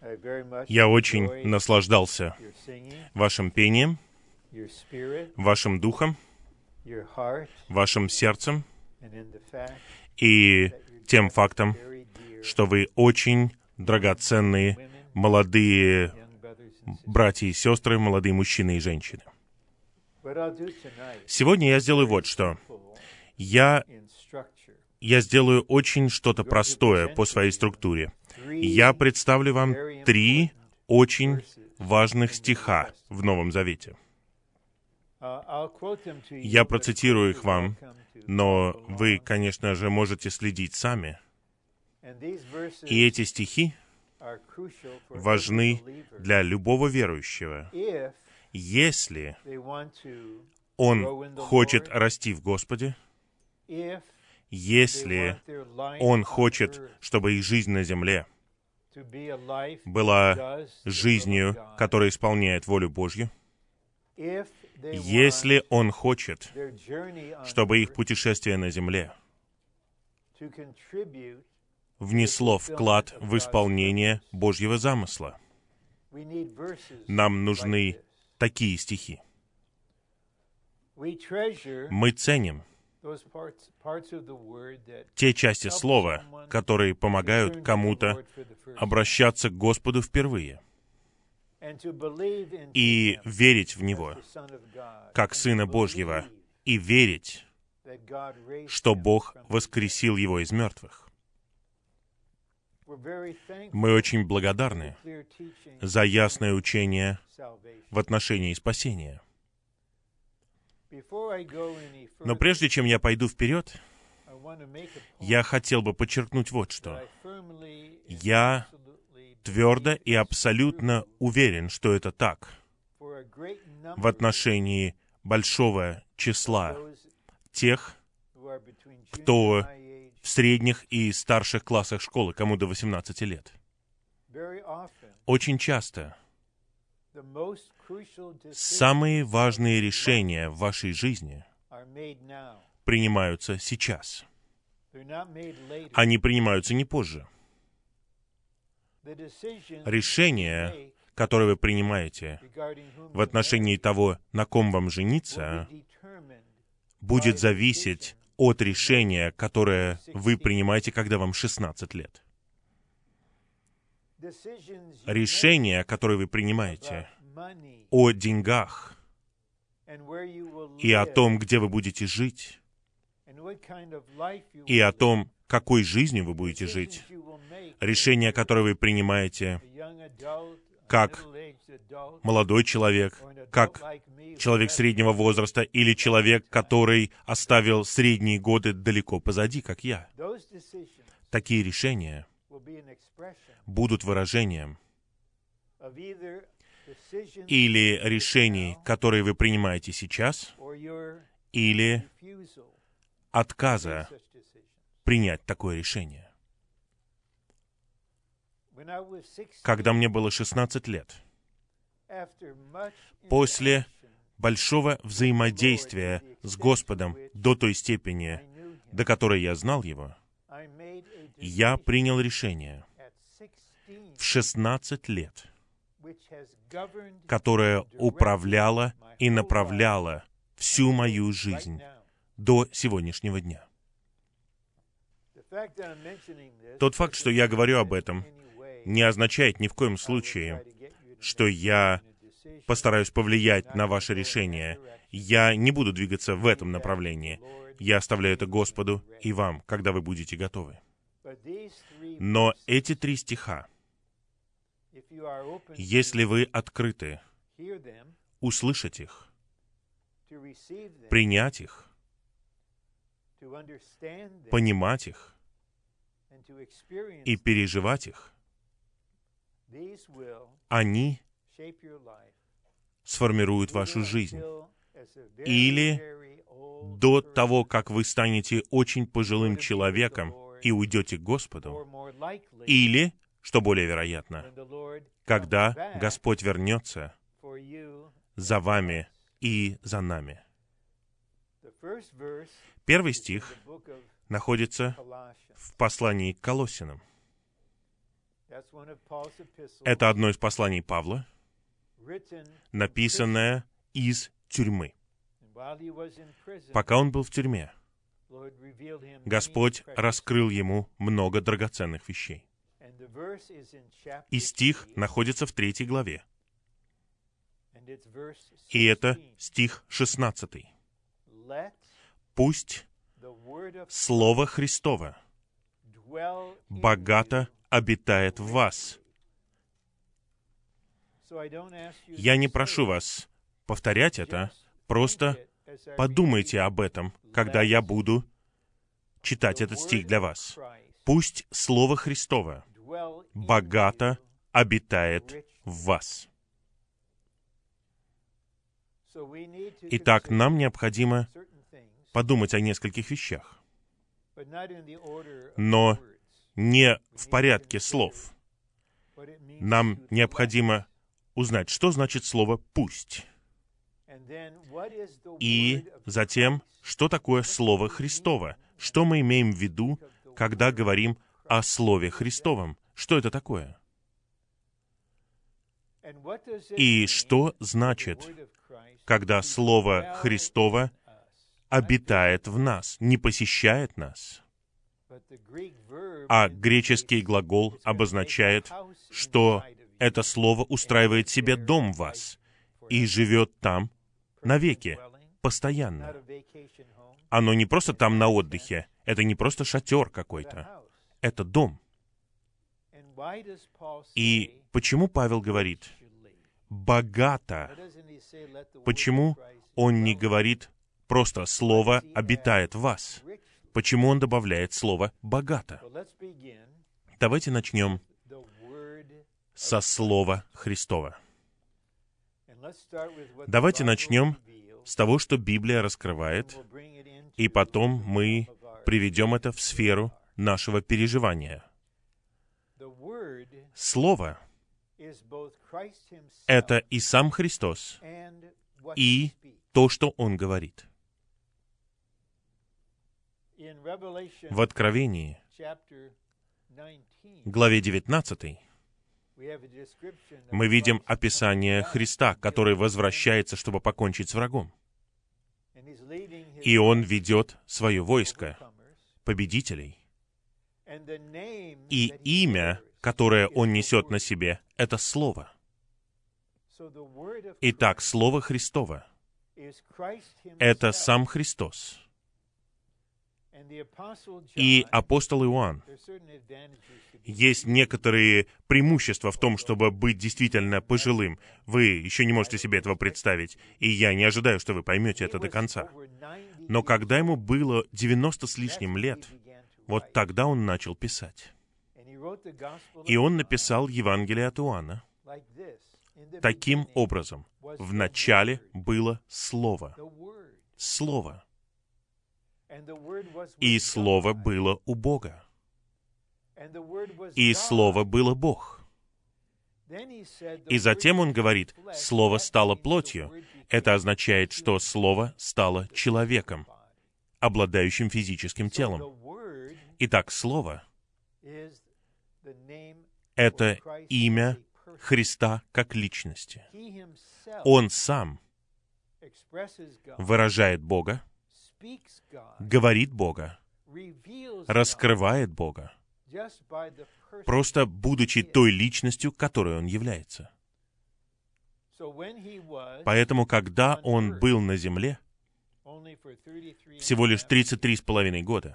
Я очень наслаждался вашим пением, вашим духом, вашим сердцем и тем фактом, что вы очень драгоценные молодые братья и сестры, молодые мужчины и женщины. Сегодня я сделаю вот что. Я сделаю очень что-то простое по своей структуре. Я представлю вам 3 очень важных стиха в Новом Завете. Я процитирую их вам, но вы, конечно же, можете следить сами. И эти стихи важны для любого верующего, если он хочет расти в Господе, если он хочет, чтобы их жизнь на земле была жизнью, которая исполняет волю Божью, если он хочет, чтобы их путешествие на земле внесло вклад в исполнение Божьего замысла. Нам нужны такие стихи. Мы ценим те части слова, которые помогают кому-то обращаться к Господу впервые и верить в Него, как Сына Божьего, и верить, что Бог воскресил Его из мертвых. Мы очень благодарны за ясное учение в отношении спасения. Но прежде чем я пойду вперед, я хотел бы подчеркнуть вот что. Я твердо и абсолютно уверен, что это так в отношении большого числа тех, кто в средних и старших классах школы, кому до 18 лет. Очень часто самые важные решения в вашей жизни принимаются сейчас. Они принимаются не позже. Решение, которое вы принимаете в отношении того, на ком вам жениться, будет зависеть от решения, которое вы принимаете, когда вам 16 лет. Решение, которое вы принимаете о деньгах и о том, где вы будете жить, и о том, какой жизнью вы будете жить, решение, которое вы принимаете как молодой человек, как человек среднего возраста или человек, который оставил средние годы далеко позади, как я. Такие решения будут выражением или решений, которые вы принимаете сейчас, или отказа принять такое решение. Когда мне было 16 лет, после большого взаимодействия с Господом до той степени, до которой я знал Его, я принял решение в 16 лет, которое управляло и направляло всю мою жизнь до сегодняшнего дня. Тот факт, что я говорю об этом, не означает ни в коем случае, что я постараюсь повлиять на ваше решение. Я не буду двигаться в этом направлении. Я оставляю это Господу и вам, когда вы будете готовы. Но эти 3 стиха, если вы открыты услышать их, принять их, понимать их и переживать их, они сформируют вашу жизнь. Или до того, как вы станете очень пожилым человеком и уйдете к Господу, или, что более вероятно, когда Господь вернется за вами и за нами. Первый стих находится в послании к Колоссянам. Это одно из посланий Павла, написанное из тюрьмы. Пока он был в тюрьме, Господь раскрыл ему много драгоценных вещей. И стих находится в 3 главе. И это стих 16. «Пусть Слово Христово богато обитает в вас». Я не прошу вас повторять это, просто подумайте об этом, когда я буду читать этот стих для вас. «Пусть Слово Христово богато обитает в вас». Итак, нам необходимо подумать о нескольких вещах, но не в порядке слов. Нам необходимо узнать, что значит слово «пусть». И затем, что такое Слово Христово? Что мы имеем в виду, когда говорим о Слове Христовом? Что это такое? И что значит, когда Слово Христово обитает в нас, не посещает нас? А греческий глагол обозначает, что это Слово устраивает себе дом в вас и живет там навеки, постоянно. Оно не просто там на отдыхе, это не просто шатер какой-то, это дом. И почему Павел говорит «богато»? Почему он не говорит просто «слово обитает в вас»? Почему он добавляет слово «богато»? Давайте начнем со Слова Христова. Давайте начнем с того, что Библия раскрывает, и потом мы приведем это в сферу нашего переживания. Слово — это и сам Христос, и то, что Он говорит. В Откровении, главе 19, мы видим описание Христа, который возвращается, чтобы покончить с врагом. И Он ведет свое войско, победителей. И имя, которое Он несет на себе, — это Слово. Итак, Слово Христово — это сам Христос. И апостол Иоанн, есть некоторые преимущества в том, чтобы быть действительно пожилым. Вы еще не можете себе этого представить, и я не ожидаю, что вы поймете это до конца. Но когда ему было 90 с лишним лет, вот тогда он начал писать. И он написал Евангелие от Иоанна таким образом. В начале было Слово. Слово. И Слово было у Бога. И Слово было Бог. И затем он говорит, Слово стало плотью. Это означает, что Слово стало человеком, обладающим физическим телом. Итак, Слово — это имя Христа как личности. Он сам выражает Бога, говорит Бога, раскрывает Бога, просто будучи той личностью, которой Он является. Поэтому, когда Он был на земле, всего лишь 33,5 года,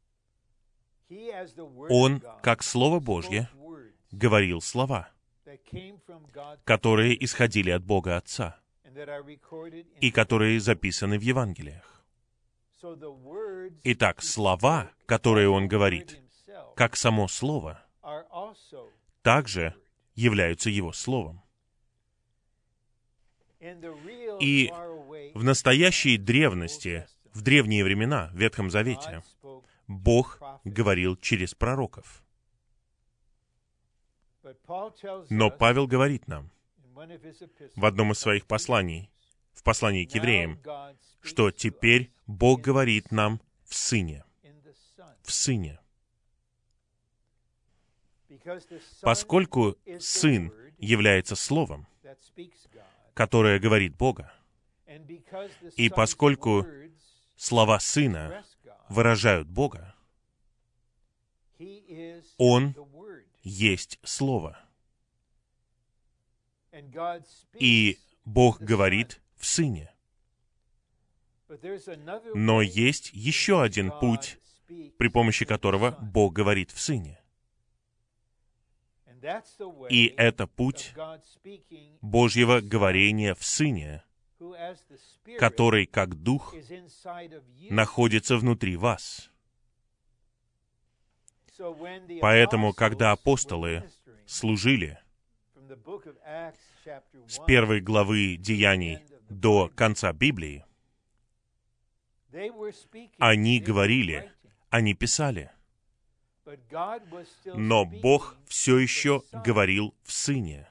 Он, как Слово Божье, говорил слова, которые исходили от Бога Отца и которые записаны в Евангелиях. Итак, слова, которые Он говорит, как само Слово, также являются Его Словом. И в настоящей древности, в древние времена, в Ветхом Завете, Бог говорил через пророков. Но Павел говорит нам в одном из своих посланий, в послании к евреям, что теперь Бог говорит нам в Сыне. В Сыне. Поскольку Сын является Словом, которое говорит Бога, и поскольку слова Сына выражают Бога, Он есть Слово. И Бог говорит в Сыне. Но есть еще один путь, при помощи которого Бог говорит в Сыне. И это путь Божьего говорения в Сыне, который, как Дух, находится внутри вас. Поэтому, когда апостолы служили с первой главы Деяний до конца Библии, они говорили, они писали, но Бог все еще говорил в Сыне,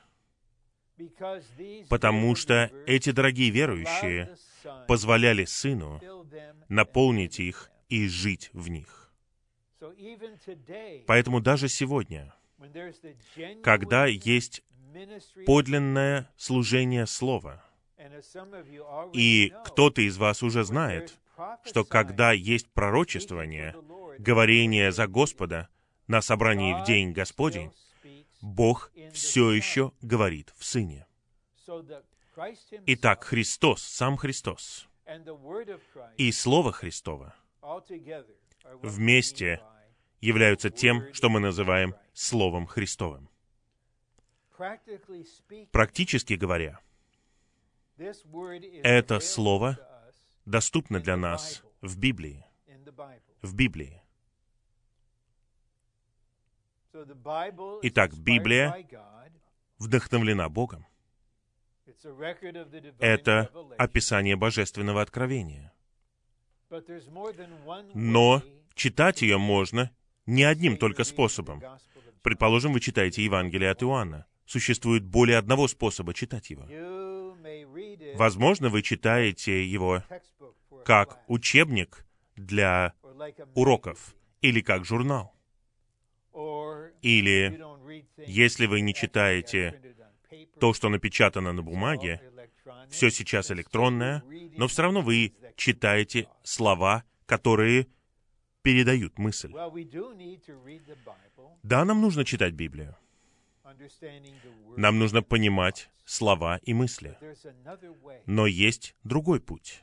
потому что эти дорогие верующие позволяли Сыну наполнить их и жить в них. Поэтому даже сегодня, когда есть подлинное служение Слова, и кто-то из вас уже знает, что когда есть пророчествование, говорение за Господа на собрании в День Господень, Бог все еще говорит в Сыне. Итак, Христос, сам Христос, и Слово Христово вместе являются тем, что мы называем Словом Христовым. Практически говоря, это Слово доступно для нас в Библии. В Библии. Итак, Библия вдохновлена Богом. Это описание божественного откровения. Но читать ее можно не одним только способом. Предположим, вы читаете Евангелие от Иоанна. Существует более одного способа читать его. Возможно, вы читаете его как учебник для уроков или как журнал. Или, если вы не читаете то, что напечатано на бумаге, все сейчас электронное, но все равно вы читаете слова, которые передают мысль. Да, нам нужно читать Библию. Нам нужно понимать слова и мысли. Но есть другой путь.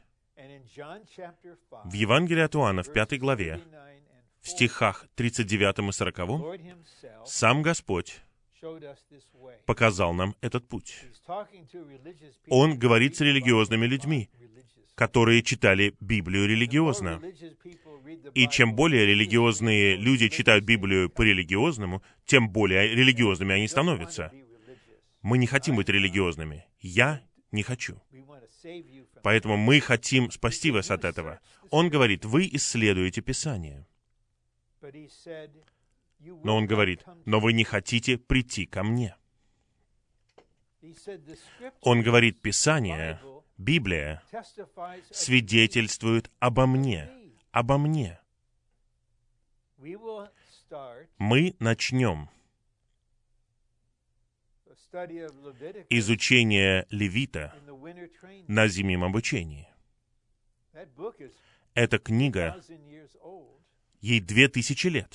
В Евангелии от Иоанна, в 5 главе, в стихах 39 и 40, сам Господь показал нам этот путь. Он говорит с религиозными людьми, которые читали Библию религиозно. И чем более религиозные люди читают Библию по-религиозному, тем более религиозными они становятся. Мы не хотим быть религиозными. Я не хочу. Поэтому мы хотим спасти вас от этого. Он говорит, вы исследуете Писание. Но он говорит, но вы не хотите прийти ко мне. Он говорит, Писание, Библия, свидетельствует обо мне. Обо мне. Мы начнем изучение Левита на зимнем обучении. Эта книга, ей 2000 лет.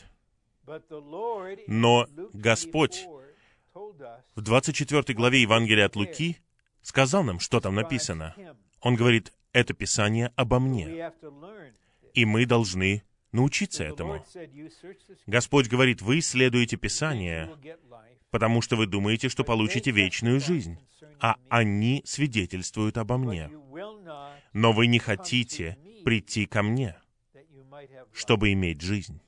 Но Господь в 24 главе Евангелия от Луки сказал нам, что там написано. Он говорит, это Писание обо мне. И мы должны научиться этому. Господь говорит, вы исследуете Писание, потому что вы думаете, что получите вечную жизнь, а они свидетельствуют обо мне. Но вы не хотите прийти ко мне, чтобы иметь жизнь.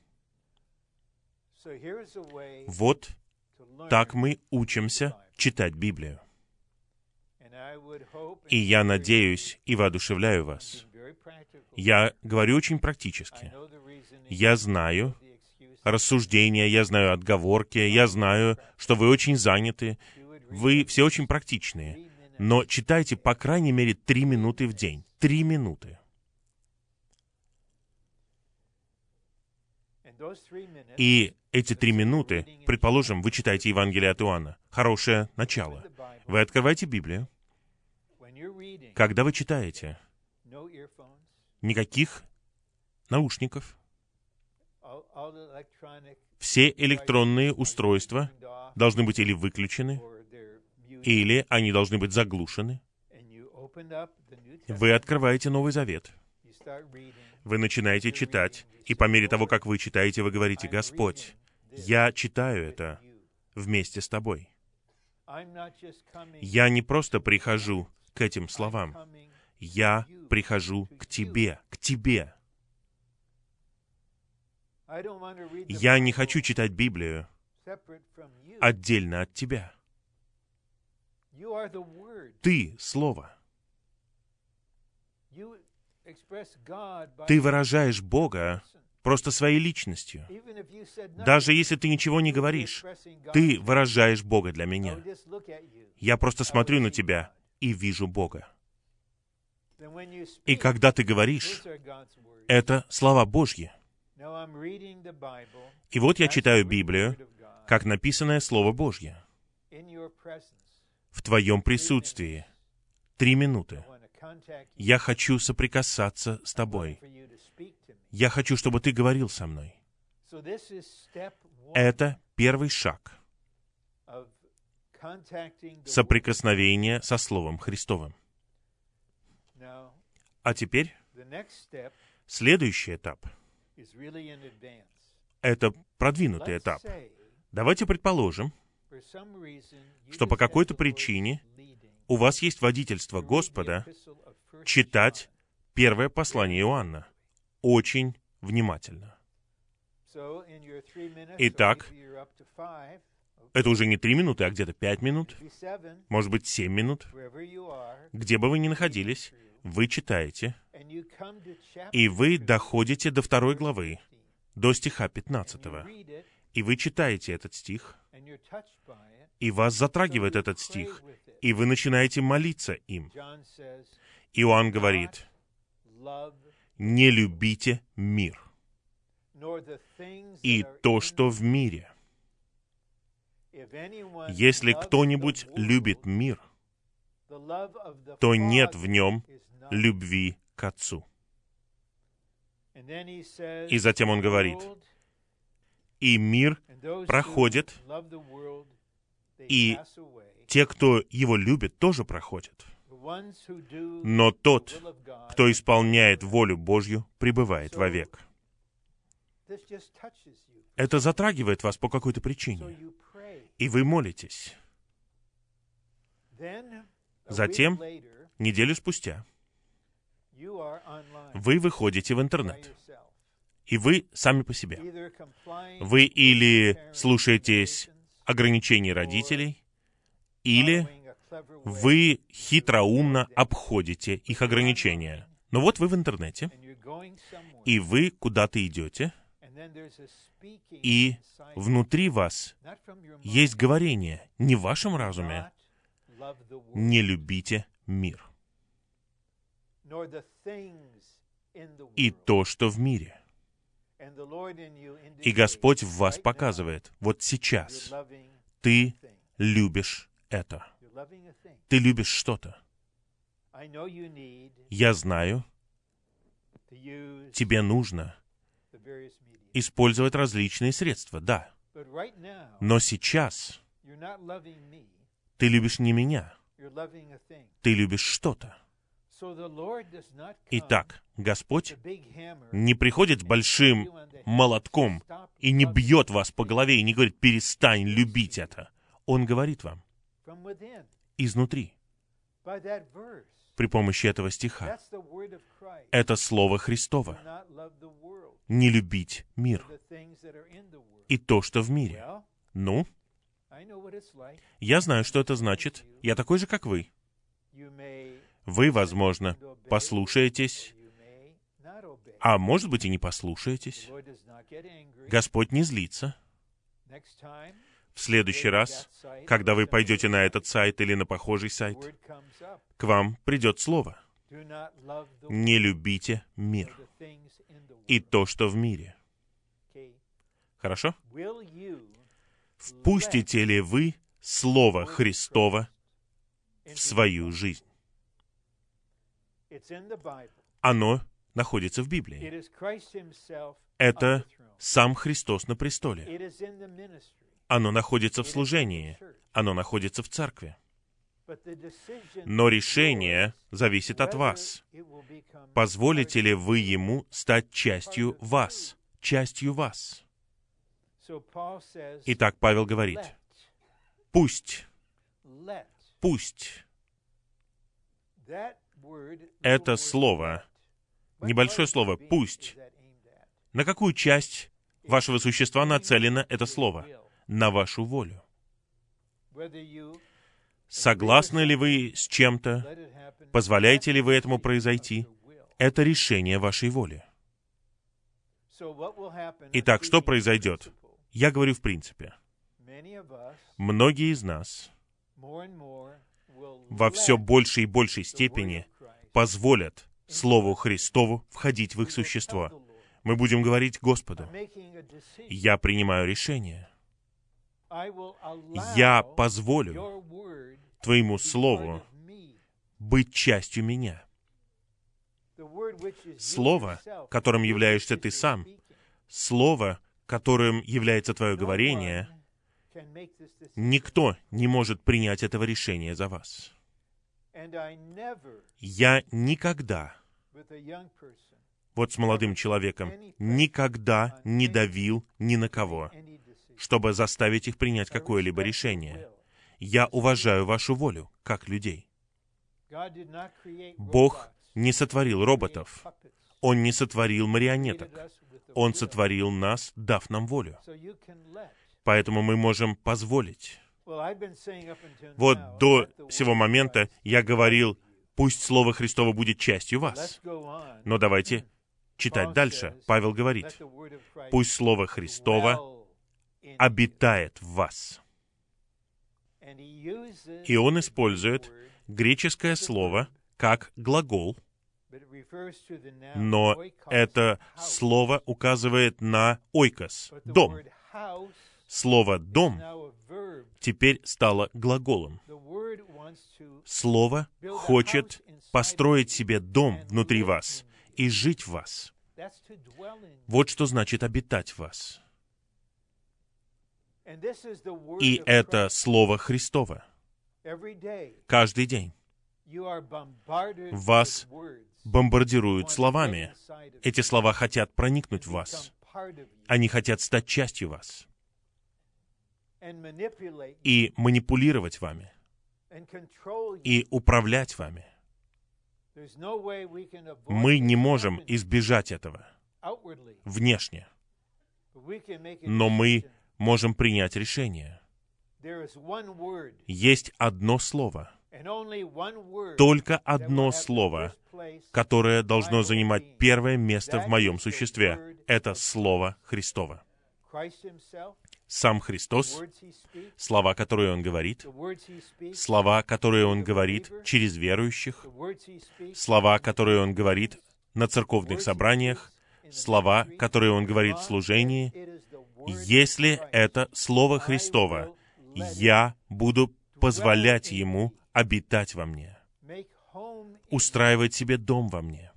Вот так мы учимся читать Библию. И я надеюсь и воодушевляю вас. Я говорю очень практически. Я знаю рассуждения, я знаю отговорки, я знаю, что вы очень заняты, вы все очень практичные. Но читайте, по крайней мере, 3 минуты в день. 3 минуты. И эти 3 минуты, предположим, вы читаете Евангелие от Иоанна. Хорошее начало. Вы открываете Библию. Когда вы читаете, никаких наушников, все электронные устройства должны быть или выключены, или они должны быть заглушены. Вы открываете Новый Завет. Вы начинаете читать, и по мере того, как вы читаете, вы говорите: «Господь, я читаю это вместе с Тобой. Я не просто прихожу к этим словам, я прихожу к Тебе, к Тебе. Я не хочу читать Библию отдельно от Тебя. Ты — Слово. Ты выражаешь Бога просто своей личностью. Даже если ты ничего не говоришь, ты выражаешь Бога для меня. Я просто смотрю на тебя и вижу Бога. И когда ты говоришь, это слова Божьи. И вот я читаю Библию, как написанное Слово Божье, в Твоем присутствии. 3 минуты. Я хочу соприкасаться с Тобой. Я хочу, чтобы Ты говорил со мной. Это первый шаг соприкосновения со Словом Христовым. А теперь следующий этап. Это продвинутый этап. Давайте предположим, что по какой-то причине у вас есть водительство Господа читать первое послание Иоанна очень внимательно. Итак, это уже не 3 минуты, а где-то 5 минут, может быть, 7 минут. Где бы вы ни находились, вы читаете, и вы доходите до 2 главы, до стиха 15. И вы читаете этот стих, и вас затрагивает этот стих, и вы начинаете молиться им. Иоанн говорит: «Не любите мир и то, что в мире. Если кто-нибудь любит мир, то нет в нем любви к Отцу». И затем он говорит: «И мир проходит, и те, кто его любит, тоже проходят. Но тот, кто исполняет волю Божью, пребывает вовек». Это затрагивает вас по какой-то причине, и вы молитесь. Затем, неделю спустя, вы выходите в интернет, и вы сами по себе. Вы или слушаетесь ограничений родителей, или вы хитроумно обходите их ограничения. Но вот вы в интернете, и вы куда-то идете, и внутри вас есть говорение, не в вашем разуме: «Не любите мир и то, что в мире». И Господь в вас показывает: вот сейчас ты любишь это. Ты любишь что-то. Я знаю, тебе нужно использовать различные средства, да. Но сейчас ты любишь не меня, ты любишь что-то. Итак, Господь не приходит с большим молотком и не бьет вас по голове и не говорит: «Перестань любить это». Он говорит вам изнутри, при помощи этого стиха. Это Слово Христово. Не любить мир и то, что в мире. Ну, я знаю, что это значит. Я такой же, как вы. Вы, возможно, послушаетесь, а может быть и не послушаетесь. Господь не злится. В следующий раз, когда вы пойдете на этот сайт или на похожий сайт, к вам придет слово: «Не любите мир и то, что в мире». Хорошо? Впустите ли вы Слово Христово в свою жизнь? Оно находится в Библии. Это сам Христос на престоле. Оно находится в служении. Оно находится в церкви. Но решение зависит от вас. Позволите ли вы Ему стать частью вас? Частью вас. Итак, Павел говорит, пусть. Это слово, небольшое слово «пусть». На какую часть вашего существа нацелено это слово? На вашу волю. Согласны ли вы с чем-то? Позволяете ли вы этому произойти? Это решение вашей воли. Итак, что произойдет? Я говорю в принципе. Многие из нас во все большей и большей степени позволят Слову Христову входить в их существо. Мы будем говорить Господу: «Я принимаю решение. Я позволю Твоему Слову быть частью меня». Слово, которым являешься ты сам, Слово, которым является твое говорение, никто не может принять этого решения за вас. Я никогда, вот с молодым человеком, никогда не давил ни на кого, чтобы заставить их принять какое-либо решение. Я уважаю вашу волю, как людей. Бог не сотворил роботов. Он не сотворил марионеток. Он сотворил нас, дав нам волю. Поэтому мы можем позволить. Вот до сего момента я говорил, пусть Слово Христово будет частью вас. Но давайте читать дальше. Павел говорит, пусть Слово Христово обитает в вас. И он использует греческое слово как глагол, но это слово указывает на ойкос, дом. Слово «дом» теперь стало глаголом. Слово хочет построить себе дом внутри вас и жить в вас. Вот что значит обитать в вас. И это Слово Христово. Каждый день вас бомбардируют словами. Эти слова хотят проникнуть в вас. Они хотят стать частью вас. И манипулировать вами. И управлять вами. Мы не можем избежать этого внешне. Но мы можем принять решение. Есть одно слово. Только одно слово, которое должно занимать первое место в моем существе. Это Слово Христово. Сам Христос, слова, которые Он говорит, слова, которые Он говорит через верующих, слова, которые Он говорит на церковных собраниях, слова, которые Он говорит в служении. Если это Слово Христово, я буду позволять Ему обитать во мне, устраивать себе дом во мне.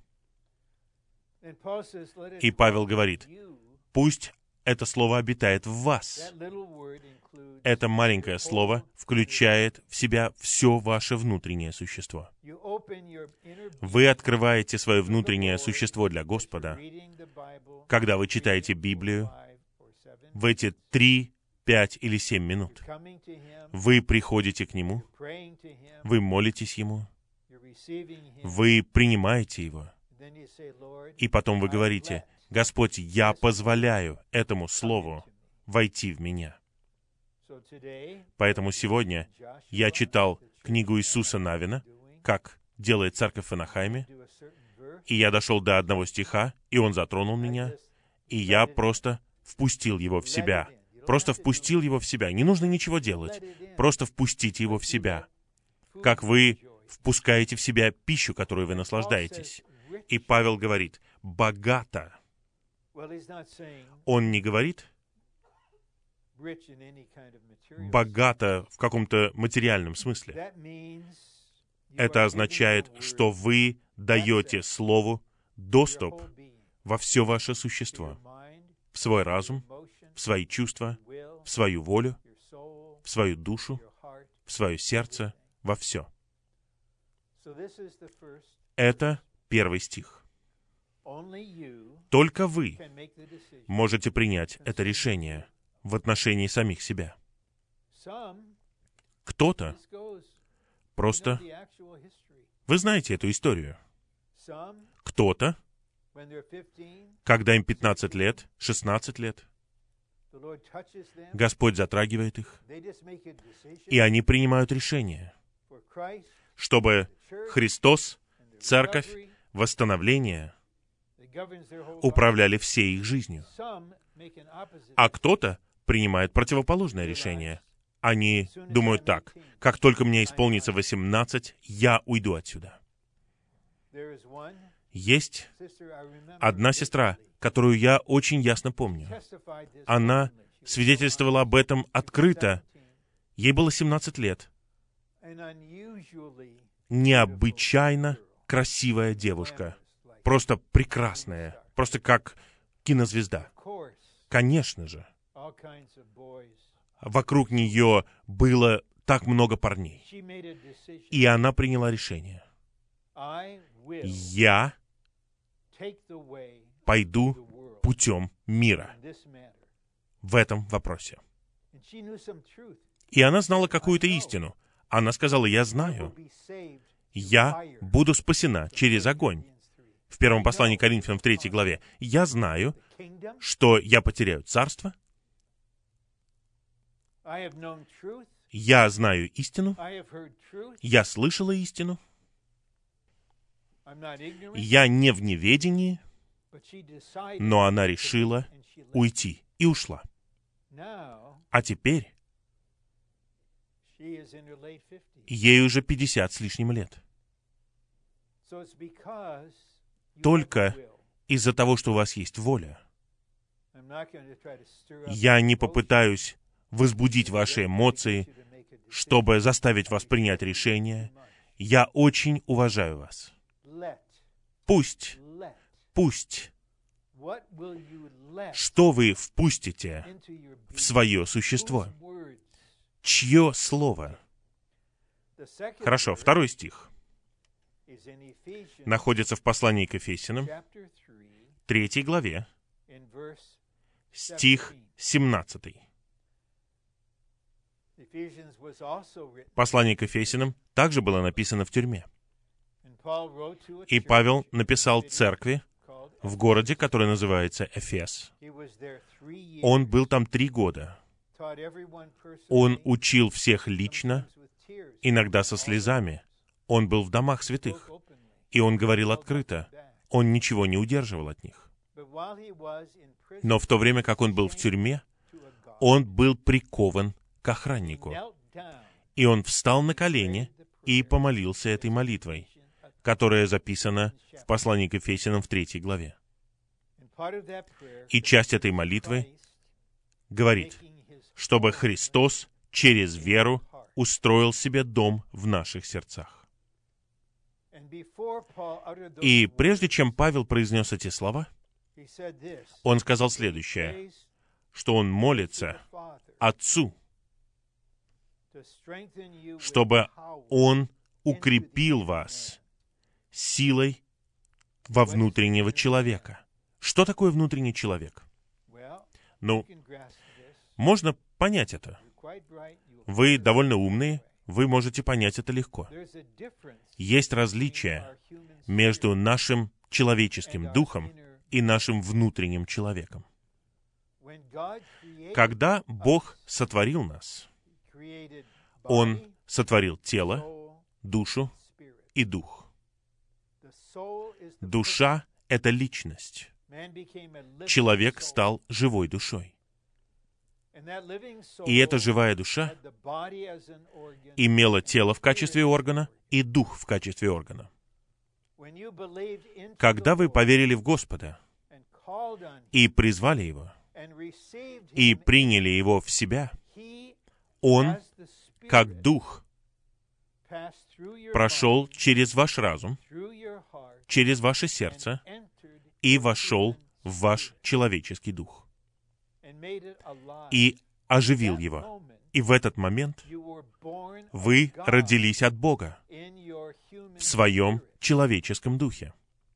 И Павел говорит, пусть это слово обитает в вас. Это маленькое слово включает в себя все ваше внутреннее существо. Вы открываете свое внутреннее существо для Господа, когда вы читаете Библию в эти 3, 5 или 7 минут. Вы приходите к Нему, вы молитесь Ему, вы принимаете Его, и потом вы говорите, «Господь, я позволяю этому Слову войти в меня». Поэтому сегодня я читал книгу Иисуса Навина, как делает церковь в Анахайме, и я дошел до одного стиха, и он затронул меня, и я просто впустил его в себя. Просто впустил его в себя. Не нужно ничего делать. Просто впустите его в себя. Как вы впускаете в себя пищу, которую вы наслаждаетесь. И Павел говорит, богато. Он не говорит, богата в каком-то материальном смысле. Это означает, что вы даете Слову доступ во все ваше существо, в свой разум, в свои чувства, в свою волю, в свою душу, в свое сердце, во все. Это первый стих. Только вы можете принять это решение в отношении самих себя. Кто-то просто... Вы знаете эту историю. Кто-то, когда им 15 лет, 16 лет, Господь затрагивает их, и они принимают решение, чтобы Христос, Церковь, восстановление управляли всей их жизнью. А кто-то принимает противоположное решение. Они думают так: как только мне исполнится 18, я уйду отсюда. Есть одна сестра, которую я очень ясно помню. Она свидетельствовала об этом открыто. Ей было 17 лет. Необычайно красивая девушка. Просто прекрасная. Просто как кинозвезда. Конечно же. Вокруг нее было так много парней. И она приняла решение. Я пойду путем мира в этом вопросе. И она знала какую-то истину. Она сказала: я знаю, я буду спасена через огонь. В первом послании к Коринфянам в 3 главе. Я знаю, что я потеряю царство. Я знаю истину. Я слышала истину. Я не в неведении, но она решила уйти и ушла. А теперь ей уже 50 с лишним лет. Только из-за того, что у вас есть воля. Я не попытаюсь возбудить ваши эмоции, чтобы заставить вас принять решение. Я очень уважаю вас. Пусть, что вы впустите в свое существо? Чье слово? Хорошо, 2 стих находится в послании к Ефесянам, 3 главе, стих 17. Послание к Ефесянам также было написано в тюрьме. И Павел написал церкви в городе, который называется Эфес. Он был там 3 года. Он учил всех лично, иногда со слезами. Он был в домах святых. И он говорил открыто. Он ничего не удерживал от них. Но в то время, как он был в тюрьме, он был прикован к охраннику. И он встал на колени и помолился этой молитвой, которая записана в послании к Ефесянам в 3 главе. И часть этой молитвы говорит, чтобы Христос через веру устроил себе дом в наших сердцах. И прежде чем Павел произнес эти слова, он сказал следующее, что он молится Отцу, чтобы Он укрепил вас силой во внутреннего человека. Что такое внутренний человек? Ну, можно понять это. Вы довольно умные, вы можете понять это легко. Есть различие между нашим человеческим духом и нашим внутренним человеком. Когда Бог сотворил нас, Он сотворил тело, душу и дух. Душа — это личность. Человек стал живой душой. И эта живая душа имела тело в качестве органа и дух в качестве органа. Когда вы поверили в Господа и призвали Его, и приняли Его в себя, Он, как Дух, прошел через ваш разум, через ваше сердце и вошел в ваш человеческий дух и оживил его. И в этот момент вы родились от Бога в своем человеческом духе.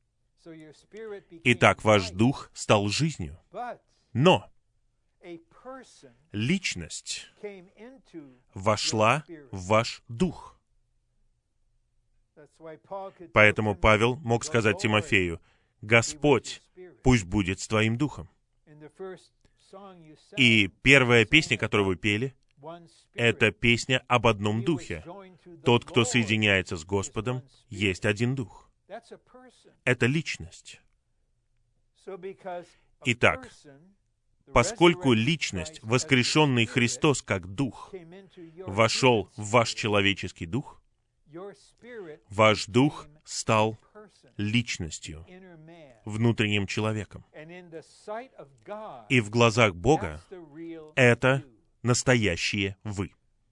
Итак, ваш дух стал жизнью. Но личность вошла в ваш дух. Поэтому Павел мог сказать Тимофею: «Господь пусть будет с твоим духом». И первая песня, которую вы пели, это песня об одном духе. Тот, кто соединяется с Господом, есть один дух. Это личность. Итак, поскольку личность, воскрешенный Христос как дух, вошел в ваш человеческий дух, ваш дух стал личностью, внутренним человеком. И в глазах Бога это настоящие вы.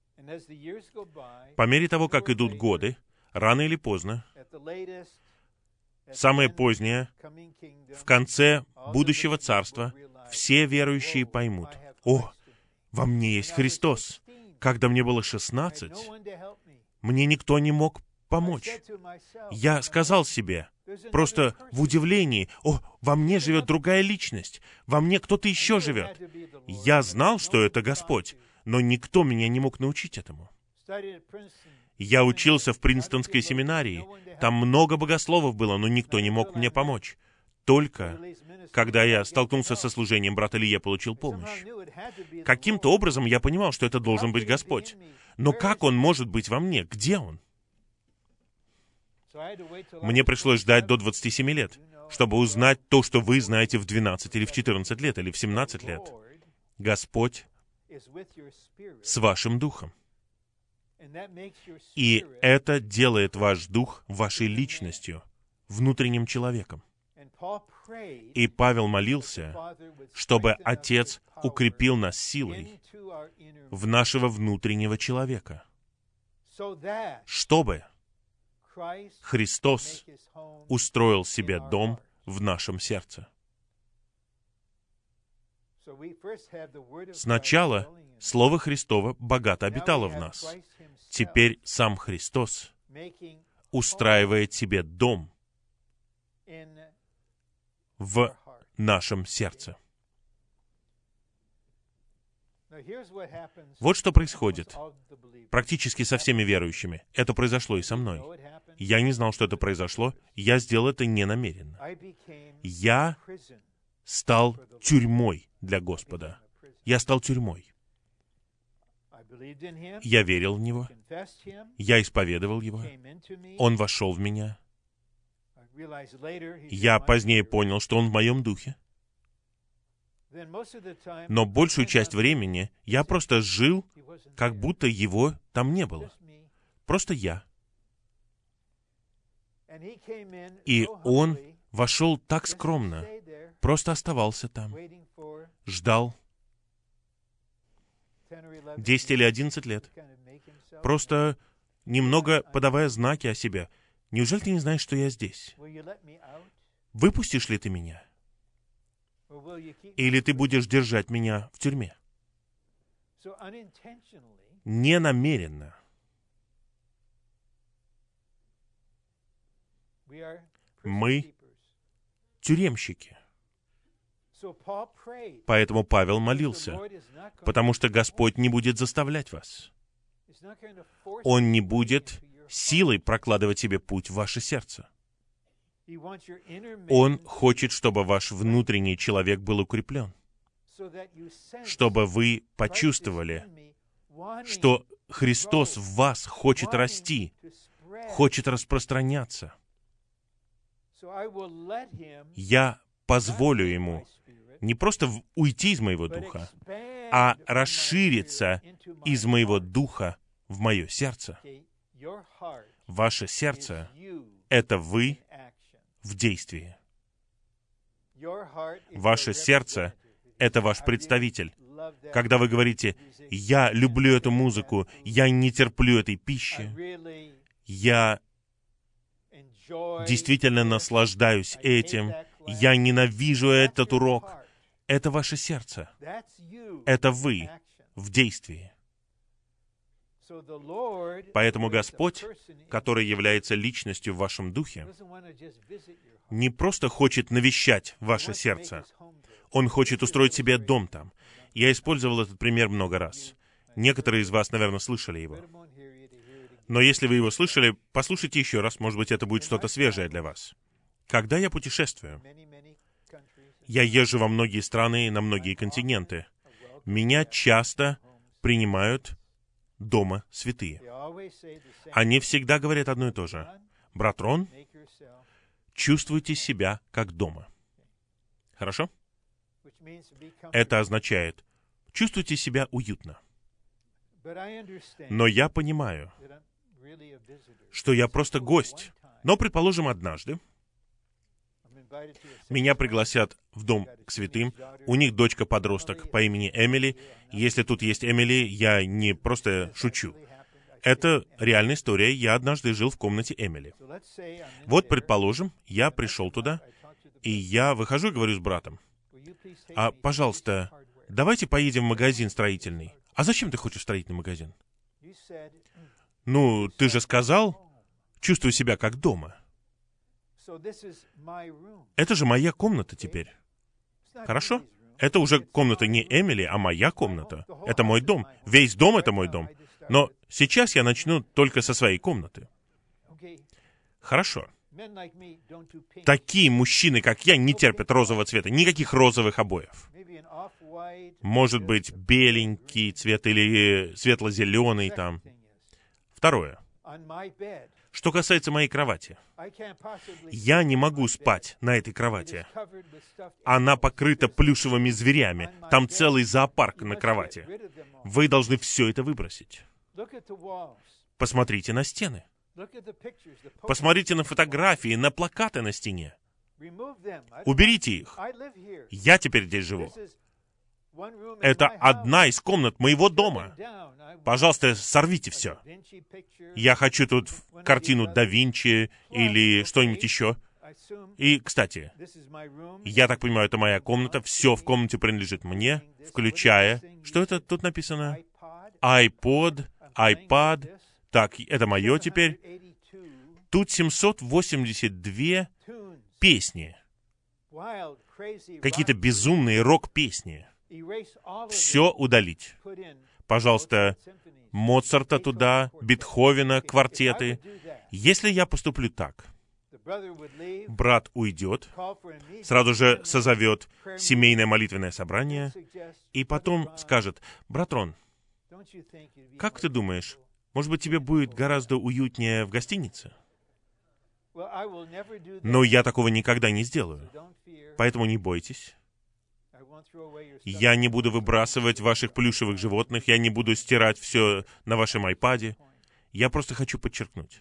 По мере того, как идут годы, рано или поздно, самое позднее, в конце будущего царства, все верующие поймут: «О, во мне есть Христос. Когда мне было 16, мне никто не мог помочь. Я сказал себе, просто в удивлении: «О, во мне живет другая личность, во мне кто-то еще живет». Я знал, что это Господь, но никто меня не мог научить этому. Я учился в Принстонской семинарии. Там много богословов было, но никто не мог мне помочь. Только когда я столкнулся со служением, брат Илья получил помощь. Каким-то образом я понимал, что это должен быть Господь. Но как Он может быть во мне? Где Он? Мне пришлось ждать до 27 лет, чтобы узнать то, что вы знаете в 12 или в 14 лет, или в 17 лет. Господь с вашим духом. И это делает ваш дух вашей личностью, внутренним человеком. И Павел молился, чтобы Отец укрепил нас силой в нашего внутреннего человека, чтобы Христос устроил себе дом в нашем сердце. Сначала Слово Христово богато обитало в нас. Теперь сам Христос устраивает себе дом в нашем сердце. Вот что происходит практически со всеми верующими. Это произошло и со мной. Я не знал, что это произошло. Я сделал это ненамеренно. Я стал тюрьмой для Господа. Я стал тюрьмой. Я верил в Него. Я исповедовал Его. Он вошел в меня. Я позднее понял, что Он в моем духе. Но большую часть времени я просто жил, как будто Его там не было. Просто я. И Он вошел так скромно, просто оставался там, ждал 10 или 11 лет, просто немного подавая знаки о себе. Неужели ты не знаешь, что я здесь? Выпустишь ли ты меня? Или ты будешь держать меня в тюрьме? Ненамеренно. Мы тюремщики. Поэтому Павел молился, потому что Господь не будет заставлять вас. Он не будет силой прокладывать себе путь в ваше сердце. Он хочет, чтобы ваш внутренний человек был укреплен, чтобы вы почувствовали, что Христос в вас хочет расти, хочет распространяться. Я позволю Ему не просто уйти из моего духа, а расшириться из моего духа в мое сердце. Ваше сердце — это вы в действии. Ваше сердце это ваш представитель. Когда вы говорите, «Я люблю эту музыку, я не терплю этой пищи, я действительно наслаждаюсь этим, я ненавижу этот урок», это ваше сердце. Это вы в действии. Поэтому Господь, который является личностью в вашем духе, не просто хочет навещать ваше сердце. Он хочет устроить себе дом там. Я использовал этот пример много раз. Некоторые из вас, наверное, слышали его. Но если вы его слышали, послушайте еще раз, может быть, это будет что-то свежее для вас. Когда я путешествую, я езжу во многие страны, на многие континенты. Меня часто принимают дома святые. Они всегда говорят одно и то же. «Брат Рон, чувствуйте себя как дома». Хорошо? Это означает, чувствуйте себя уютно. Но я понимаю, что я просто гость. Но, предположим, однажды меня пригласят в дом к святым. У них дочка-подросток по имени Эмили. Если тут есть Эмили, я не просто шучу. Это реальная история. Я однажды жил в комнате Эмили. Вот, предположим, я пришел туда, и я выхожу и говорю с братом: «А, пожалуйста, давайте поедем в магазин строительный». «А зачем ты хочешь строительный магазин?» «Ну, ты же сказал, чувствую себя как дома». Это же моя комната теперь. Хорошо? Это уже комната не Эмили, а моя комната. Это мой дом. Весь дом — это мой дом. Но сейчас я начну только со своей комнаты. Хорошо. Такие мужчины, как я, не терпят розового цвета. Никаких розовых обоев. Может быть, беленький цвет или светло-зеленый там. Второе. Что касается моей кровати. Я не могу спать на этой кровати. Она покрыта плюшевыми зверями. Там целый зоопарк на кровати. Вы должны все это выбросить. Посмотрите на стены. Посмотрите на фотографии, на плакаты на стене. Уберите их. Я теперь здесь живу. Это одна из комнат моего дома. Пожалуйста, сорвите все. Я хочу тут картину Да Винчи или что-нибудь еще. И, кстати, я так понимаю, это моя комната. Все в комнате принадлежит мне, включая... Что это тут написано? iPod, iPad. Так, это мое теперь. Тут 782 песни. Какие-то безумные рок-песни. Все удалить. Пожалуйста, Моцарта туда, Бетховена, квартеты. Если я поступлю так, брат уйдет, сразу же созовет семейное молитвенное собрание, и потом скажет: «Брат Рон, как ты думаешь, может быть, тебе будет гораздо уютнее в гостинице?» Но я такого никогда не сделаю. Поэтому не бойтесь. Я не буду выбрасывать ваших плюшевых животных, я не буду стирать все на вашем айпаде. Я просто хочу подчеркнуть.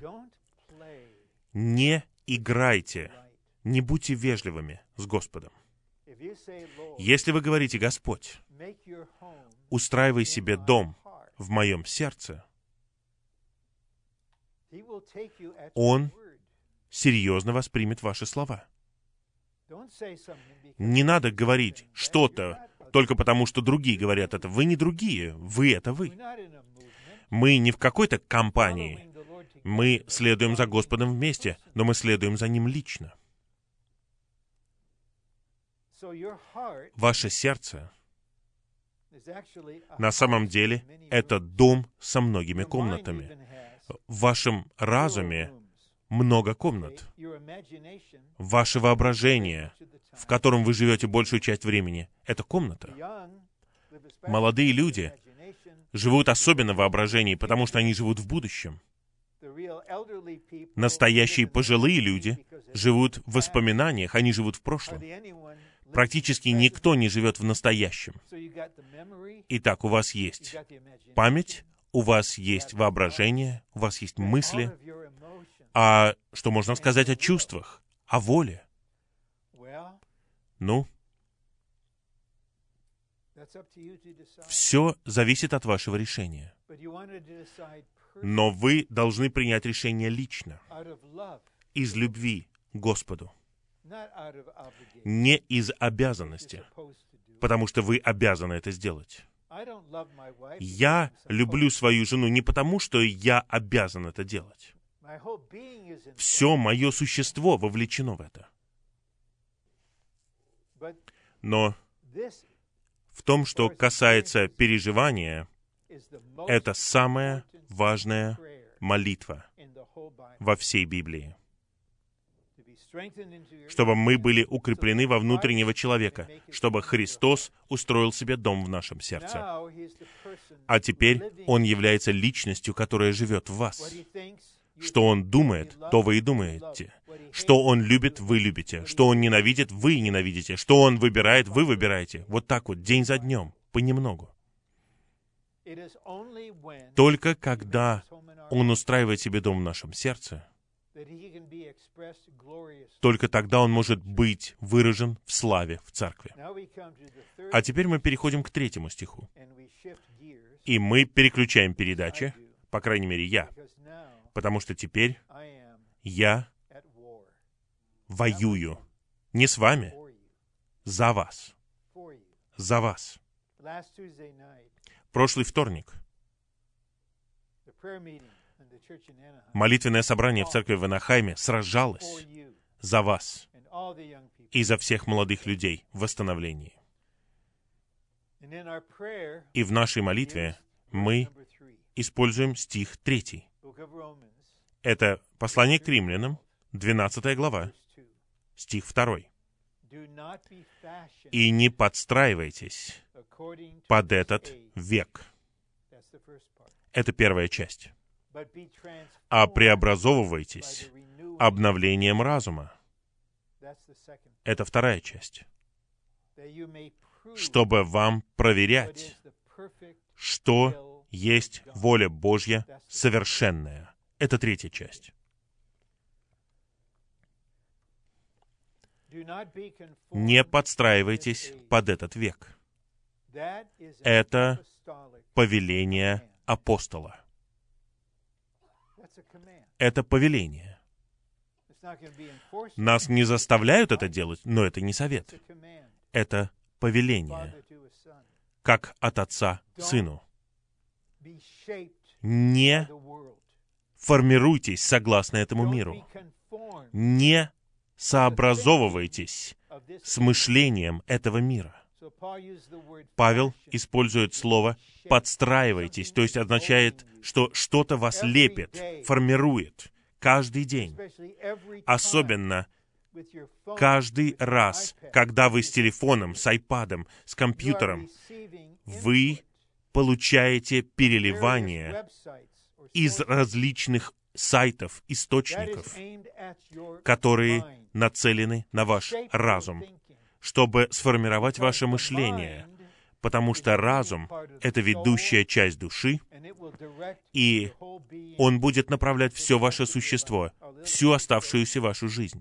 Не играйте, не будьте вежливыми с Господом. Если вы говорите: «Господь, устраивай себе дом в моем сердце», Он серьезно воспримет ваши слова. Не надо говорить что-то только потому, что другие говорят это. Вы не другие, вы — это вы. Мы не в какой-то компании. Мы следуем за Господом вместе, но мы следуем за Ним лично. Ваше сердце на самом деле это дом со многими комнатами. В вашем разуме много комнат. Ваше воображение, в котором вы живете большую часть времени, это комната. Молодые люди живут особенно в воображении, потому что они живут в будущем. Настоящие пожилые люди живут в воспоминаниях, они живут в прошлом. Практически никто не живет в настоящем. Итак, у вас есть память, у вас есть воображение, у вас есть мысли. А что можно сказать о чувствах, о воле? Ну, Все зависит от вашего решения. Но вы должны принять решение лично, из любви к Господу, не из обязанности, потому что вы обязаны это сделать. Я люблю свою жену не потому, что я обязан это делать. Все мое существо вовлечено в это. Но в том, что касается переживания, это самая важная молитва во всей Библии. Чтобы мы были укреплены во внутреннего человека, чтобы Христос устроил себе дом в нашем сердце. А теперь Он является личностью, которая живет в вас. Что Он думает, то вы и думаете. Что Он любит, вы любите. Что Он ненавидит, вы ненавидите. Что Он выбирает, вы выбираете. Вот так вот, день за днем, понемногу. Только когда Он устраивает себе дом в нашем сердце, только тогда Он может быть выражен в славе в церкви. А теперь мы переходим к 3 стиху. И мы переключаем передачи, по крайней мере, я, потому что теперь я воюю не с вами, за вас. За вас. Прошлый вторник молитвенное собрание в церкви в Анахайме сражалось за вас и за всех молодых людей в восстановлении. И в нашей молитве мы используем стих 3. Это послание к римлянам, 12 глава, стих 2. «И не подстраивайтесь под этот век». Это первая часть. «А преобразовывайтесь обновлением разума». Это вторая часть. «Чтобы вам проверять, что есть воля Божья совершенная». Это третья часть. Не подстраивайтесь под этот век. Это повеление апостола. Это повеление. Нас не заставляют это делать, но это не совет. Это повеление, как от отца сыну. Не формируйтесь согласно этому миру. Не сообразовывайтесь с мышлением этого мира. Павел использует слово «подстраивайтесь», то есть означает, что что-то вас лепит, формирует каждый день. Особенно каждый раз, когда вы с телефоном, с айпадом, с компьютером, вы получаете переливание из различных сайтов, источников, которые нацелены на ваш разум, чтобы сформировать ваше мышление, потому что разум — это ведущая часть души, и он будет направлять все ваше существо, всю оставшуюся вашу жизнь.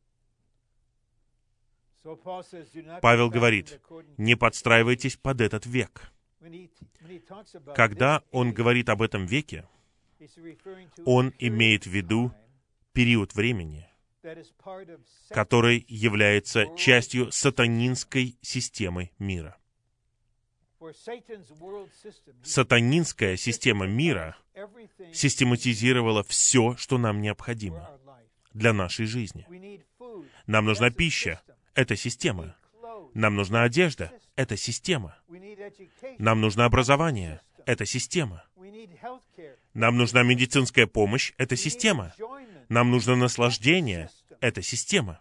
Павел говорит, не подстраивайтесь под этот век. Когда он говорит об этом веке, он имеет в виду период времени, который является частью сатанинской системы мира. Сатанинская система мира систематизировала все, что нам необходимо для нашей жизни. Нам нужна пища — это система. Нам нужна одежда — это система. Нам нужно образование — это система. Нам нужна медицинская помощь — это система. Нам нужно наслаждение — это система.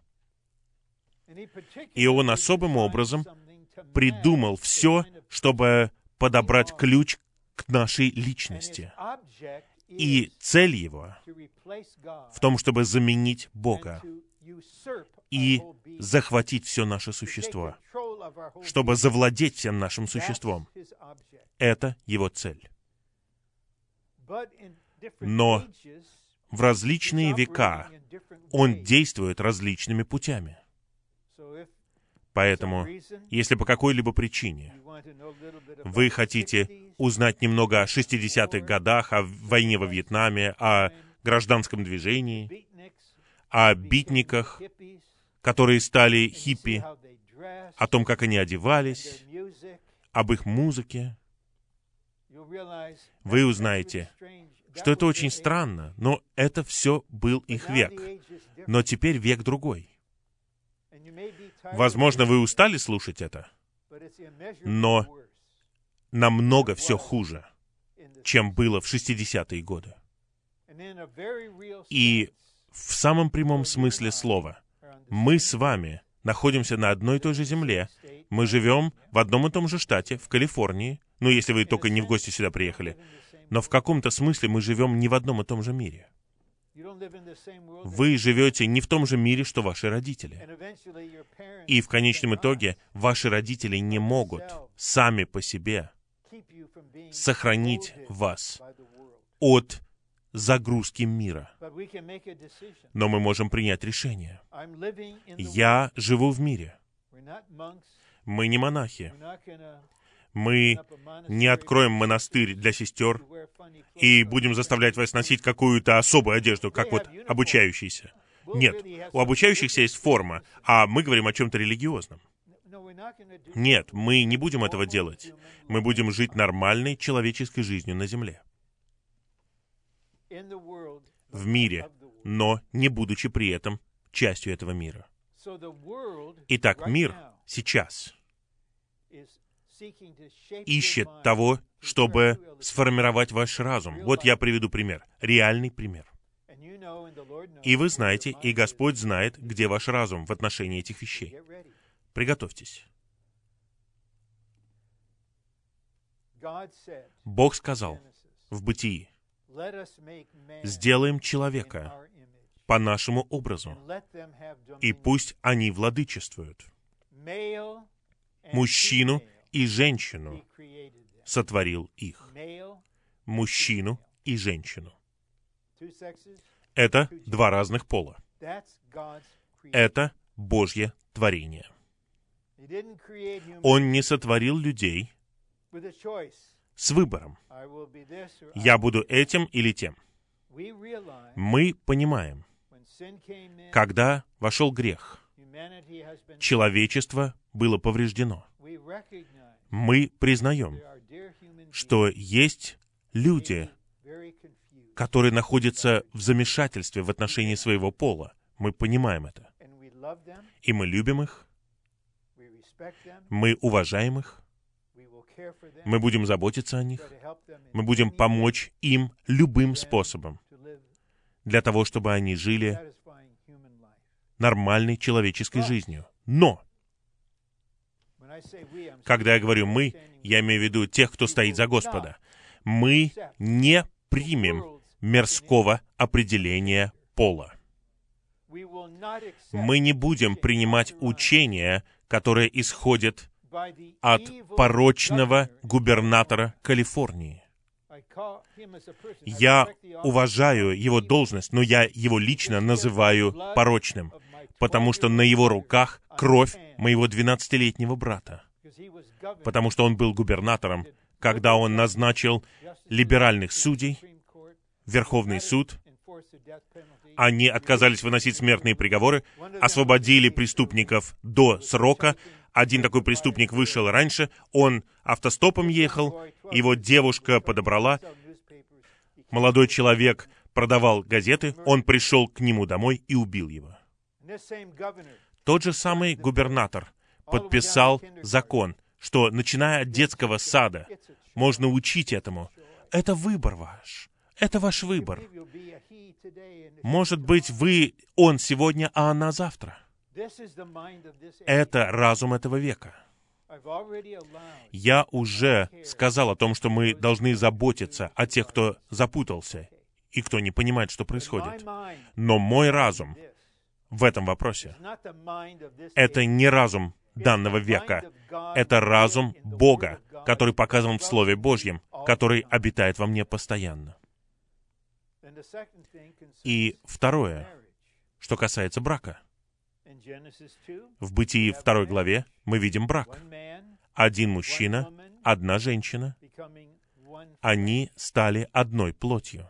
И он особым образом придумал все, чтобы подобрать ключ к нашей личности. И цель его в том, чтобы заменить Бога и захватить все наше существо, чтобы завладеть всем нашим существом. Это его цель. Но в различные века он действует различными путями. Поэтому, если по какой-либо причине вы хотите узнать немного о 60-х годах, о войне во Вьетнаме, о гражданском движении, о битниках, которые стали хиппи, о том, как они одевались, об их музыке, вы узнаете, что это очень странно, но это все был их век. Но теперь век другой. Возможно, вы устали слушать это, но намного все хуже, чем было в 60-е годы. И в самом прямом смысле слова, мы с вами находимся на одной и той же земле, мы живем в одном и том же штате, в Калифорнии, ну, если вы только не в гости сюда приехали, но в каком-то смысле мы живем не в одном и том же мире. Вы живете не в том же мире, что ваши родители. И в конечном итоге ваши родители не могут сами по себе сохранить вас от загрузки мира. Но мы можем принять решение. Я живу в мире. Мы не монахи. Мы не откроем монастырь для сестер и будем заставлять вас носить какую-то особую одежду, как вот обучающиеся. Нет, у обучающихся есть форма, а мы говорим о чем-то религиозном. Нет, мы не будем этого делать. Мы будем жить нормальной человеческой жизнью на земле. В мире, но не будучи при этом частью этого мира. Итак, мир сейчас ищет того, чтобы сформировать ваш разум. Вот я приведу пример. Реальный пример. И вы знаете, и Господь знает, где ваш разум в отношении этих вещей. Приготовьтесь. Бог сказал в Бытии: «Сделаем человека по нашему образу, и пусть они владычествуют». Мужчину и женщину сотворил их. Мужчину и женщину. Это два разных пола. Это Божье творение. Он не сотворил людей с выбором. Я буду этим или тем. Мы понимаем, когда вошел грех, человечество было повреждено. Мы признаем, что есть люди, которые находятся в замешательстве в отношении своего пола. Мы понимаем это. И мы любим их, мы уважаем их, мы будем заботиться о них, мы будем помочь им любым способом для того, чтобы они жили нормальной человеческой жизнью. Но, когда я говорю «мы», я имею в виду тех, кто стоит за Господа. Мы не примем мирского определения пола. Мы не будем принимать учения, которые исходят от порочного губернатора Калифорнии. Я уважаю его должность, но я его лично называю порочным, потому что на его руках кровь моего 12-летнего брата, потому что он был губернатором, когда он назначил либеральных судей, Верховный суд. Они отказались выносить смертные приговоры, освободили преступников до срока. Один такой преступник вышел раньше, он автостопом ехал, его девушка подобрала. Молодой человек продавал газеты, он пришел к нему домой и убил его. Тот же самый губернатор подписал закон, что, начиная от детского сада, можно учить этому. Это выбор ваш. Это ваш выбор. Может быть, он сегодня, а она завтра. Это разум этого века. Я уже сказал о том, что мы должны заботиться о тех, кто запутался и кто не понимает, что происходит. Но мой разум в этом вопросе — это не разум данного века. Это разум Бога, который показан в Слове Божьем, который обитает во мне постоянно. И второе, что касается брака. В Бытии 2 главе мы видим брак. Один мужчина, одна женщина, они стали одной плотью.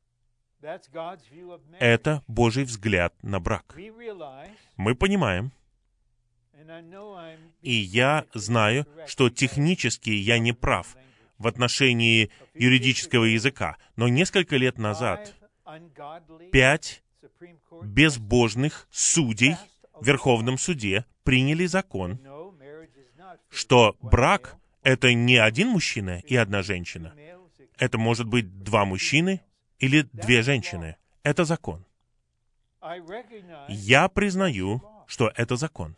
Это Божий взгляд на брак. Мы понимаем, и я знаю, что технически я не прав в отношении юридического языка, но несколько лет назад 5 безбожных судей в Верховном суде приняли закон, что брак — это не один мужчина и одна женщина. Это может быть 2 мужчины или 2 женщины. Это закон. Я признаю, что это закон.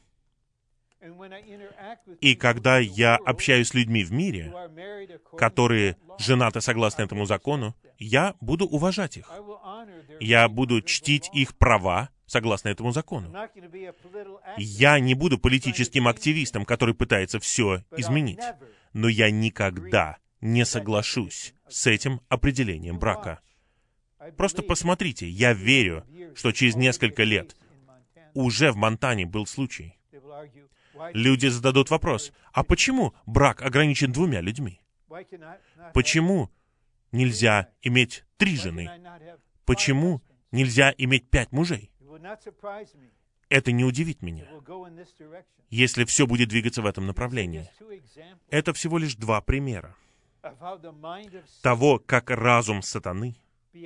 И когда я общаюсь с людьми в мире, которые женаты согласно этому закону, я буду уважать их. Я буду чтить их права согласно этому закону. Я не буду политическим активистом, который пытается все изменить. Но я никогда не соглашусь с этим определением брака. Просто посмотрите, я верю, что через несколько лет уже в Монтане был случай. Люди зададут вопрос, а почему брак ограничен 2 людьми? Почему нельзя иметь 3 жены? Почему нельзя иметь 5 мужей? Это не удивит меня, если все будет двигаться в этом направлении. Это всего лишь 2 примера того, как разум сатаны,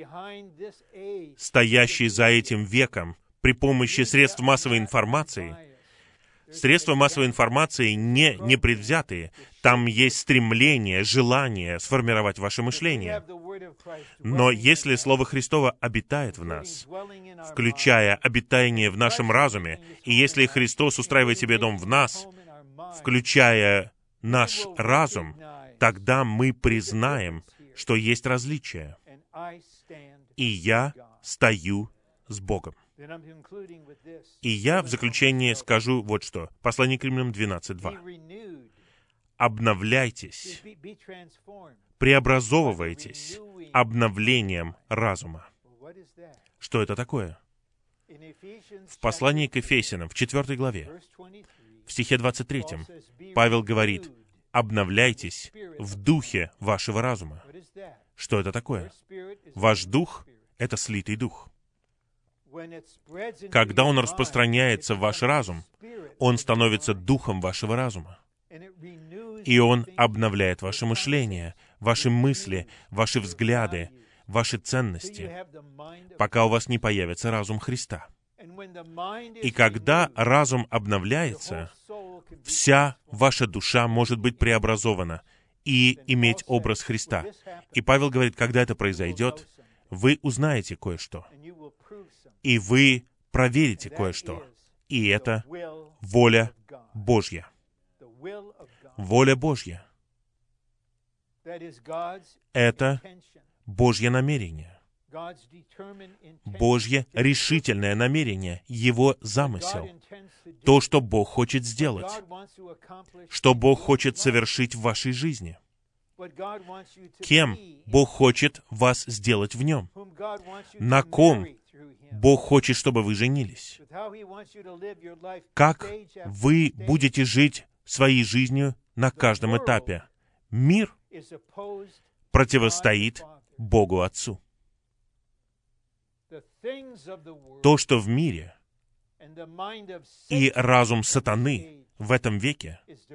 стоящий за этим веком при помощи средств массовой информации, средства массовой информации не непредвзятые. Там есть стремление, желание сформировать ваше мышление. Но если Слово Христово обитает в нас, включая обитание в нашем разуме, и если Христос устраивает себе дом в нас, включая наш разум, тогда мы признаем, что есть различия. И я стою с Богом. И я в заключение скажу вот что. Послание к Римлянам 12:2. Обновляйтесь, преобразовывайтесь обновлением разума. Что это такое? В послании к Ефесянам, в 4 главе, в стихе 23, Павел говорит, обновляйтесь в духе вашего разума. Что это такое? Ваш дух — это слитый дух. Когда он распространяется в ваш разум, он становится духом вашего разума. И он обновляет ваше мышление, ваши мысли, ваши взгляды, ваши ценности, пока у вас не появится разум Христа. И когда разум обновляется, вся ваша душа может быть преобразована и иметь образ Христа. И Павел говорит, когда это произойдет, вы узнаете кое-что. И вы проверите кое-что. И это воля Божья. Воля Божья. Это Божье намерение. Божье решительное намерение, Его замысел. То, что Бог хочет сделать. Что Бог хочет совершить в вашей жизни. Кем Бог хочет вас сделать в Нем. На ком Бог хочет, чтобы вы женились. Как вы будете жить своей жизнью на каждом этапе. Мир противостоит Богу Отцу. То, что в мире и разум сатаны в этом веке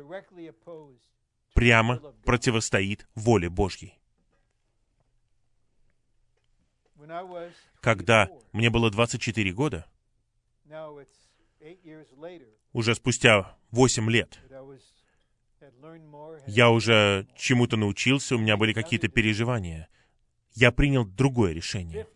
прямо противостоит воле Божьей. Когда мне было 24 года, уже спустя 8 лет, я уже чему-то научился, у меня были какие-то переживания. Я принял другое решение.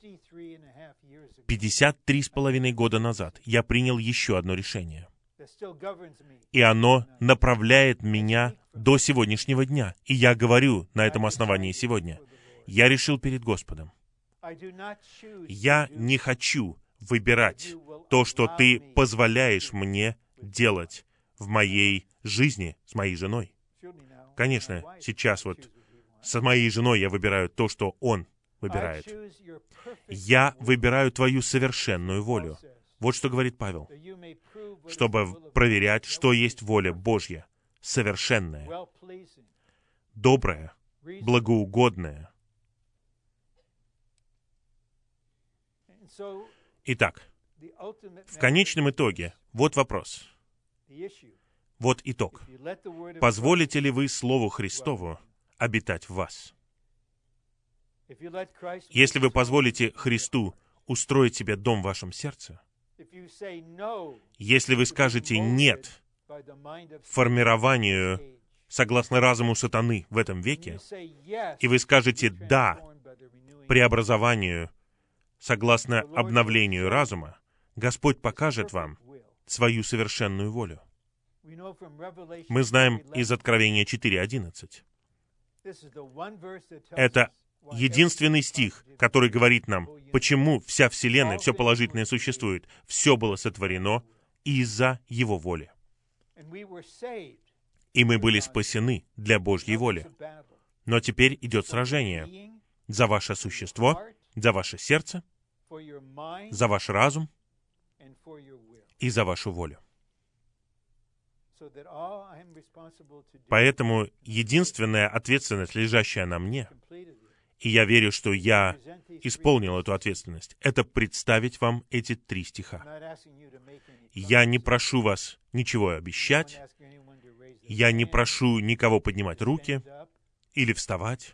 53,5 года назад я принял еще одно решение. И оно направляет меня до сегодняшнего дня. И я говорю на этом основании сегодня. Я решил перед Господом. Я не хочу выбирать то, что Ты позволяешь мне делать в моей жизни с моей женой. Конечно, сейчас вот с моей женой я выбираю то, что он выбирает. Я выбираю Твою совершенную волю. Вот что говорит Павел. Чтобы проверять, что есть воля Божья, совершенная, добрая, благоугодная. Итак, в конечном итоге, вот вопрос. Вот итог. Позволите ли вы Слову Христову обитать в вас? Если вы позволите Христу устроить себе дом в вашем сердце, если вы скажете «нет» формированию согласно разуму сатаны в этом веке, и вы скажете «да» преобразованию согласно обновлению разума, Господь покажет вам свою совершенную волю. Мы знаем из Откровения 4:11. Это единственный стих, который говорит нам, почему вся Вселенная, все положительное существует. Все было сотворено из-за Его воли. И мы были спасены для Божьей воли. Но теперь идет сражение за ваше существо, за ваше сердце, за ваш разум и за вашу волю. Поэтому единственная ответственность, лежащая на мне, и я верю, что я исполнил эту ответственность, это представить вам эти 3 стиха. Я не прошу вас ничего обещать, я не прошу никого поднимать руки или вставать.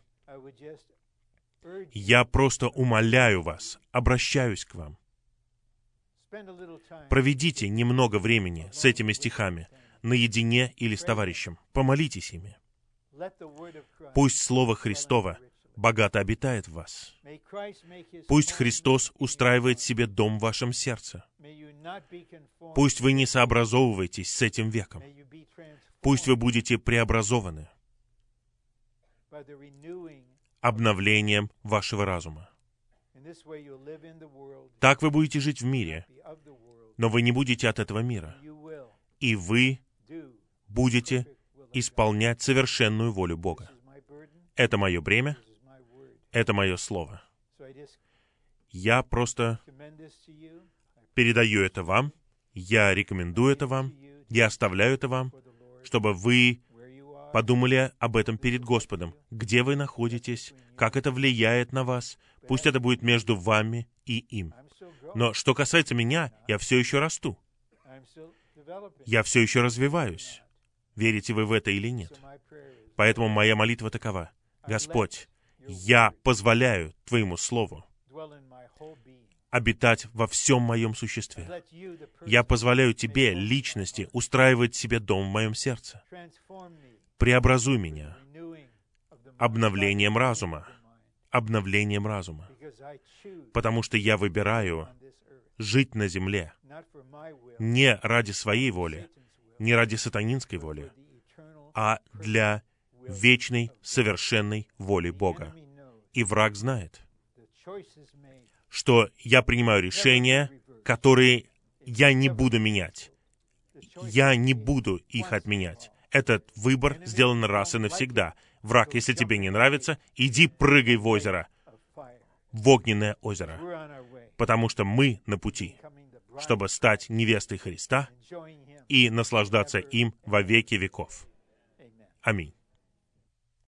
Я просто умоляю вас, обращаюсь к вам. Проведите немного времени с этими стихами, наедине или с товарищем. Помолитесь ими. Пусть Слово Христово богато обитает в вас. Пусть Христос устраивает себе дом в вашем сердце. Пусть вы не сообразовываетесь с этим веком. Пусть вы будете преобразованы обновлением вашего разума. Так вы будете жить в мире, но вы не будете от этого мира. И вы будете исполнять совершенную волю Бога. Это мое бремя, это мое слово. Я просто передаю это вам, я рекомендую это вам, я оставляю это вам, чтобы вы подумали об этом перед Господом. Где вы находитесь, как это влияет на вас, пусть это будет между вами и им. Но что касается меня, я все еще расту. Я все еще развиваюсь. Верите вы в это или нет? Поэтому моя молитва такова. Господь, я позволяю Твоему Слову обитать во всем моем существе. Я позволяю Тебе, личности, устраивать себе дом в моем сердце. Преобразуй меня обновлением разума. Обновлением разума. Потому что я выбираю жить на земле не ради своей воли, не ради сатанинской воли, а для вечной, совершенной воли Бога. И враг знает, что я принимаю решения, которые я не буду менять. Я не буду их отменять. Этот выбор сделан раз и навсегда. Враг, если тебе не нравится, иди прыгай в озеро, в огненное озеро, потому что мы на пути, чтобы стать невестой Христа и наслаждаться им во веки веков. Аминь.